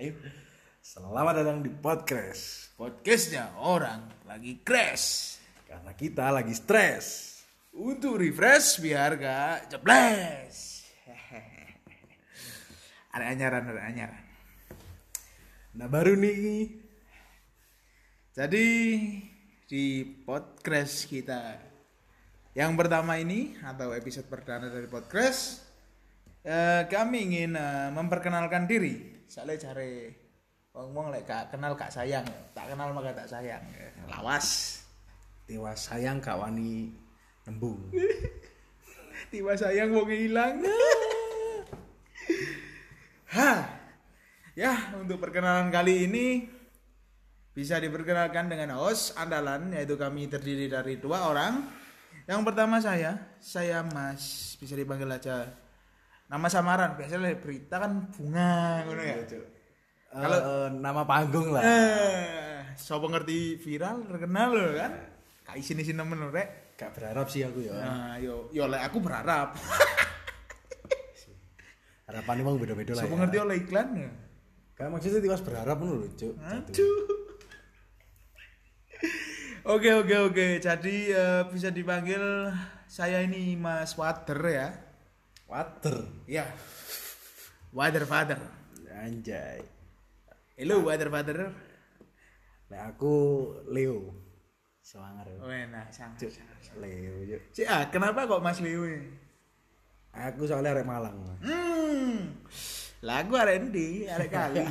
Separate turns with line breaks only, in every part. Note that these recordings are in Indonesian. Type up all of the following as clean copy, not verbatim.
Ayo. Selamat datang di podcast.
Podcastnya orang lagi crash.
Karena kita lagi stres.
Untuk refresh biar gak jebles. Ada anyaran.
Nah baru nih.
Jadi di podcast kita yang pertama ini atau episode perdana dari podcast, kami ingin memperkenalkan diri. Soalnya cari ngomong lek gak kenal gak sayang, tak kenal maka tak sayang. Lawas.
Tiwas sayang gak wani nembung.
Tiba sayang wong hilang. Ya, untuk perkenalan kali ini bisa diperkenalkan dengan host andalan, yaitu kami terdiri dari 2 orang. Yang pertama saya Mas, bisa dipanggil aja nama samaran. Biasanya berita kan Bunga ngono ya.
Kalau nama panggung lah.
Sopo ngerti viral terkenal loh kan. Kayak isin-isin nemen lho rek.
Gak berharap sih aku ya.
Nah, yo lek aku berharap.
Harapan emang beda-beda lah.
Sopo
Ya.
ngerti oleh iklan ya.
Kayak maksudnya tiwas berharap ngono lho, Cuk.
Aduh. Oke. Jadi bisa dipanggil saya ini Mas Wader ya.
Water.
Ya. Wader Father.
Anjay.
Halo Wader Father.
Nah aku Leo. Semangar ya.
Oh enak, sangat.
Leo yuk.
Kenapa kok Mas Leo ini?
Aku soalnya arek Malang.
Lagu arek endi? Arek kali.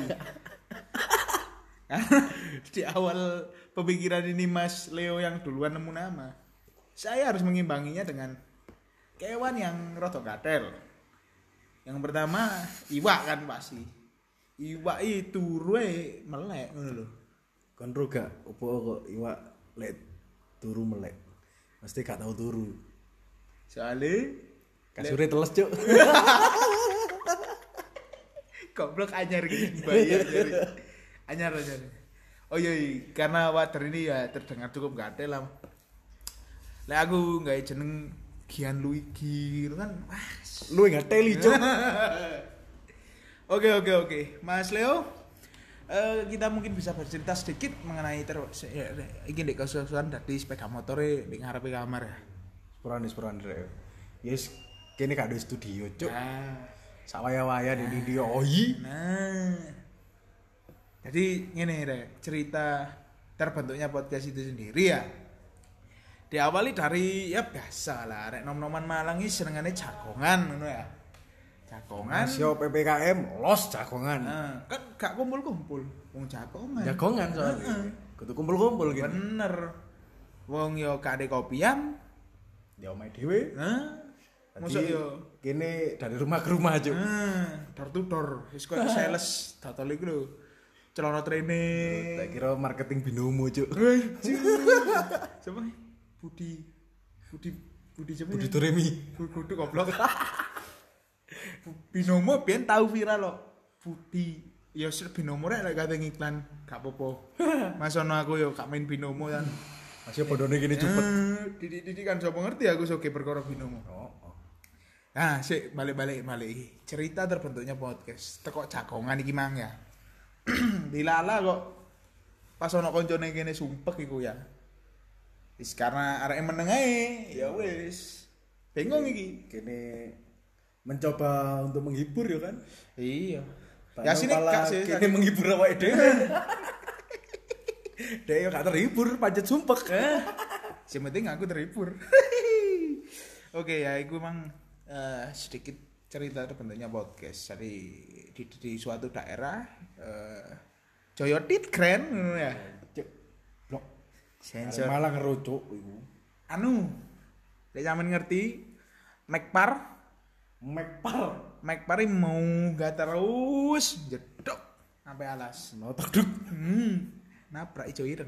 Di awal pemikiran ini Mas Leo yang duluan nemu nama, saya harus mengimbanginya dengan kewan yang rada gatel. Yang pertama iwak kan pasti. Iwak itu ruwe melek ngono lho.
Kon ro gak opo kok iwak lek turu melek. Mesti gak tau turu.
Soale
Kasure teles, Cuk.
goblok anyar gitu bayar dari anyar. Oh iya, karena Wader ini ya terdengar cukup gatel lah. Lek aku nggak jeneng Gian Luigi gitu kan. Wah,
Lu enggak teli, Cuk.
Oke. Mas Leo, kita mungkin bisa bercerita sedikit mengenai iki ndek kesusahan dari sepeda motore di ngarepe kamar ya.
Sepuran rek. Yes, kene gak ada studio, Cuk.
Nah,
Sawaya-waya di dia oyi.
Jadi ngene rek, cerita terbentuknya podcast itu sendiri ya. Diawali dari ya biasa lah, rek nom-noman Malang iki senengane jagongan ngono ya. Jagongan.
Masio PPKM los jagongan.
Kan gak kumpul-kumpul, wong jagongan.
Jagongan soalnya. Kudu kumpul-kumpul gitu.
Bener. Wong yo gak ada kopian.
Ya omahe dhewe.
Mosok yo
kene dari rumah ke rumah, Cuk.
door to door. Wis koyo sales dotol iku lho. Celana training.
Tak kira marketing binomo, Cuk.
Siapa? Budi siapa?
Budi Toremi.
Budi goblok. Binomo ben tahu viral loh. Budi. Ya binomo rek lek kate iklan gak apa-apa. Masono aku yo gak main binomo kan.
Masih podone gini cepet.
Didik kan sapa ngerti aku soge perkara binomo.
Oh.
Nah, balik. Cerita terbentuknya podcast. Tekok jagongan iki mang ya. Dilala kok pas ono koncone kene sumpek iku ya. Wis karena arek meneng ae, ya wis. Bingung iki.
Kene mencoba untuk menghibur ya kan.
Iya. Ya sini
Kak
sih.
kene menghibur awake dhewe. Dhewe gak terhibur pancet sumpek.
Yang penting aku terhibur. Oke ya, iku emang sedikit cerita terbentuknya podcast. Jadi di suatu daerah Joyotit Grand ngono ya.
Cuk. Blok.
Sensor.
Malah ngerucuk iku.
Anu, lek sampean ngerti Mekpar ini mau gak terus jedok sampai alas.
Notok duk.
Nabrak ijo ireng.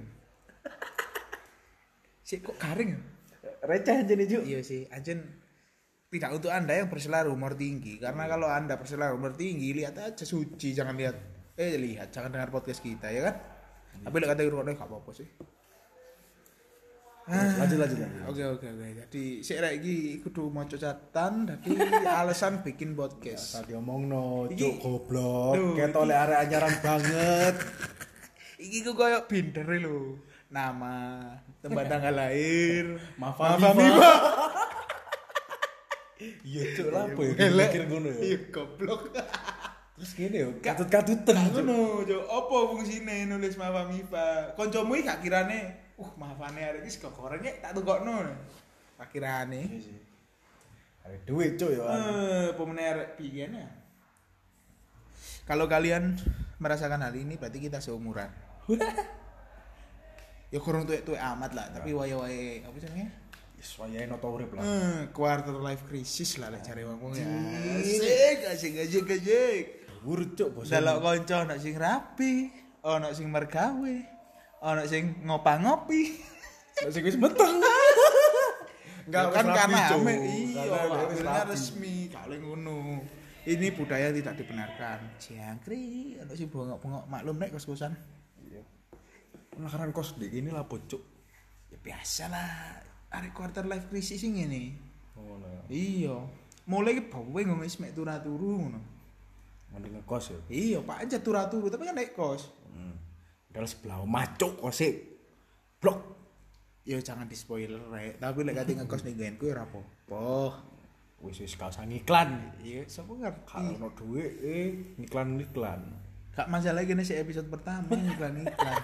Sik kok garing ya?
Receh aja nih, Cuk.
Iya sih, anjen tidak untuk Anda yang berselera humor tinggi. Karena kalau Anda berselera humor tinggi, lihat aja Suci, jangan jangan dengar podcast kita ya kan. Tapi lek kata urutnya gak apa-apa sih.
Lanjut.
Oke. Jadi sik rek iki kudu maca catatan dadi alasan bikin podcast.
Tadi omongno,
Iki-
cuk goblok,
Duh,
ketok lek arek anyaran banget.
Iki ku koyo binder lho. Nama, tempat tanggal lahir,
Mafa
Mifa.
Mifa. Iya cuk lapo ya
Elek.
mikir ngono ya.
Iya goblok.
Terus gini yo, katut-katutan cuk.
Ngono, Cuk. Apa fungsine nulis Mafa Mifa? Kancamu iki gak kirane, mafane arek iki sego goreng tak tukokno. Tak kirane.
Iya sih. Ada duit cuk ya.
Pemenang arek biyen ya. Kalau kalian merasakan hal ini berarti kita seumuran. Ya kurang tuwek-tuwek amat lah, tapi wae-wae apa jenenge?
Wis wayahe noto urip lah.
Quarter life crisis lah lek cari wong ya.
Anjing.
Asik.
Urut cuk bos.
Delok kanca ana sing rapi, ana sing mergawe, ana sing ngopi.
Nek sing wis meteng.
Enggak
Ya
kan
wis rapi,
karena
Cuk.
ame iya,
Karena wis
akhirnya
rapi.
resmi kali ngono. Ini budaya tidak dibenarkan. Jangkrik, ana sing bongok-bongok maklum nek kos-kosan.
Iya. Penakaran kos di ini lah cuk.
Ya biasa lah, arek quarter life crisis sing ngene.
Ngono ya.
Iya. Mulai ki bawe ngomong wis mek turu-turu ngono.
Mending ngekos ya.
Iya, Pak aja turu-turu tapi kan naik kos.
Padahal sebelah omah cuk kose. Blok.
Ya jangan di spoiler rek, tapi lek kate ngekos ning nggenku ya ora apa-apa.
Wis gak usah ngiklan.
Iya, sapa ngerti.
Kalau ono duit iklan.
Gak masalah gini sih episode pertama iklan-iklan.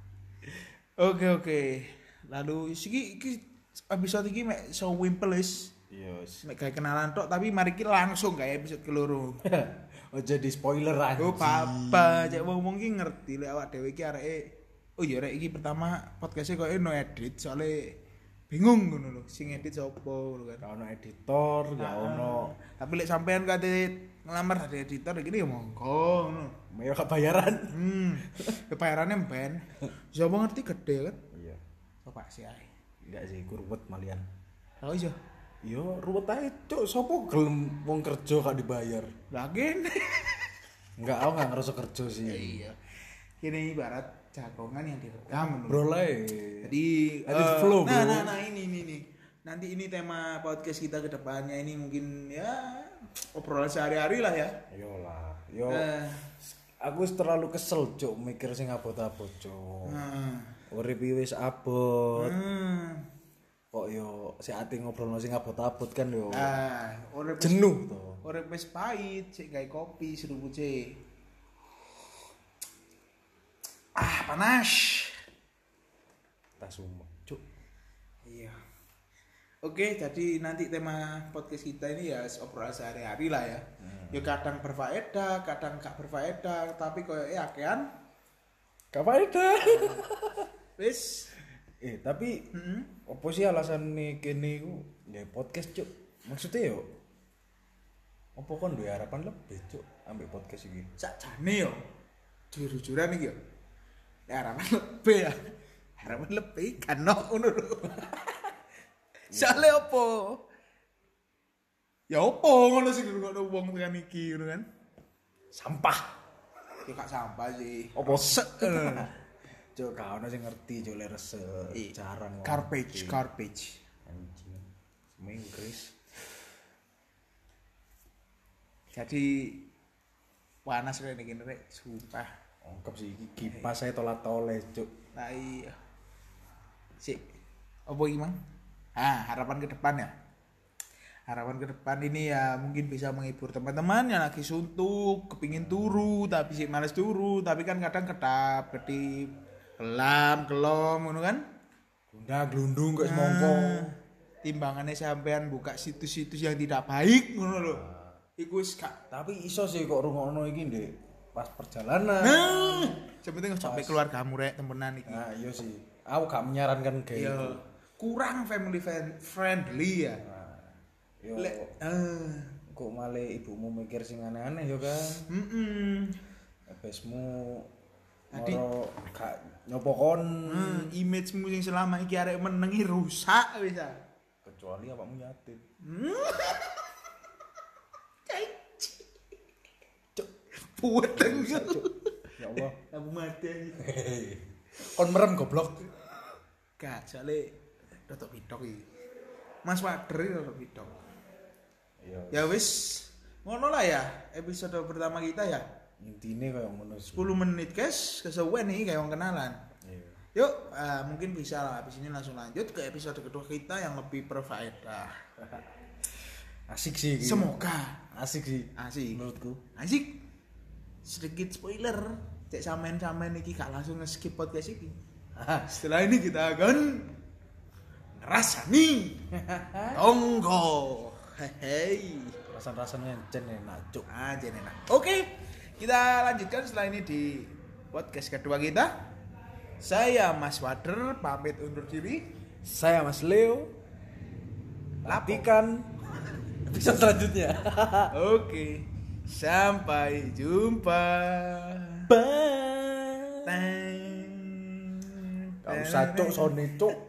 Oke. Lalu iki episode iki mek so wimple wis.
Iya.
Mek gawe kenalan tok tapi mari ki langsung gawe episode keloro.
Oh jadi spoiler aja.
Oh papa, cek wong-wong ki ngerti lek awak dhewe iki areke. Oh iya rek iki pertama podcast-e koyo no edit soalnya bingung ngono lho, sing edit sapa ngono kan.
Gak ono editor, gak ono.
Tapi lek sampean kate ngelamar dadi editor iki ya monggo ngono.
Mayo gak bayaran.
Kebayarannya ben. Siapa ngerti gede kan?
Iya.
Coba sih ae.
Enggak sih kurwet malian.
Oh iya.
Yo ruwet ae cuk, sapa gelem wong kerja gak dibayar.
Lagi.
Enggak, aku gak ngerasa kerja sih.
Iya. Ini ibarat jagongan yang direkam.
Bro lah.
Jadi
Let it flow, bro.
Nah ini. Nanti ini tema podcast kita ke depannya ini mungkin ya obrolan sehari-hari lah ya.
Yolah. Yo.
Eh.
Aku wis terlalu kesel cuk mikir sing abot-abot cuk.
Nah.
Urip iki wis abot.
Hmm.
Kok yo si ati ngobrolno sing abot-abot kan yo.
Urip
Jenuh to.
Urip wis pahit, sik gawe kopi serupuce. Panas.
Tas umum cuk.
Iya. Oke, jadi nanti tema podcast kita ini ya obrolan sehari-hari lah ya. Ya kadang berfaedah, kadang gak berfaedah, tapi koyoke akean
Gak faedah.
wis.
Tapi apa sih alasan nih kene iku ya podcast cuk. Maksudnya yo apa kon duwe harapan lebih cuk ambek podcast iki.
Sakjane yo. Jujur-jujuran iki yo. Ya harapan lebih ya. Harapan lebih kan ngono lho. Soale opo? Ya opo ngono sing ngono wong tekan iki ngono kan.
Sampah.
Ya gak sampah sih.
Opo cuk gak ono sing ngerti cuk lek resek. Jarang.
Garbage.
Anjing. Semua Inggris.
Jadi panas rek iki rek, sumpah.
Ongkep sih iki kipas saya tolak-toleh cuk.
Lah iya. Sik. Apa iki, Mang? Harapan ke depan ya. Harapan ke depan ini ya mungkin bisa menghibur teman-teman yang lagi suntuk, kepingin turu tapi sih males turu, tapi kan kadang kedap-kedip, kelom ngono kan.
Glundung kok semongko.
Timbangannya sampean buka situs-situs yang tidak baik ngono lho. Iku wis gak.
Tapi iso sih kok rungokno iki Ndek. Pas perjalanan.
Sepenting sampai keluargamu rek temenan iki.
Nah, iya sih. Aku gak menyarankan kayak
Iya.
gitu.
Kurang family friendly ya.
Yo,
Lek
kok malah ibumu mikir sing aneh-aneh yo kan. Ebesmu
Tadi-
moro gak nyopo kon
Image-mu sing selama iki arek menengi rusak wis.
kecuali awakmu yatim.
Puweteng.
Ya Allah.
Aku mati.
Kon merem goblok.
Gak, soalnya Rotok bidok iki. Mas Wader iki rotok bidok.
Iya.
Ya wis, ngono lah ya episode pertama kita ya.
Intine kayak ngono.
10 menit guys, kesuwen nih kayak wong kenalan.
Iya.
Yuk, mungkin bisa lah habis ini langsung lanjut ke episode kedua kita yang lebih berfaedah.
Asik sih. Gitu.
Semoga
asik sih.
asik.
Menurutku.
Asik. Sedikit spoiler, cek sampean-sampean iki gak langsung nge-skip podcast iki. Setelah ini kita akan ngerasani tonggo. Hei.
Rasanya encen enak, Cuk.
Aja enak. Oke, kita lanjutkan setelah ini di podcast kedua kita. Saya Mas Wader pamit undur diri.
Saya Mas Leo. Latikan episode selanjutnya.
Oke, sampai jumpa.
Bye.
Teng.
Gak usah, Cuk, Sony, Cuk.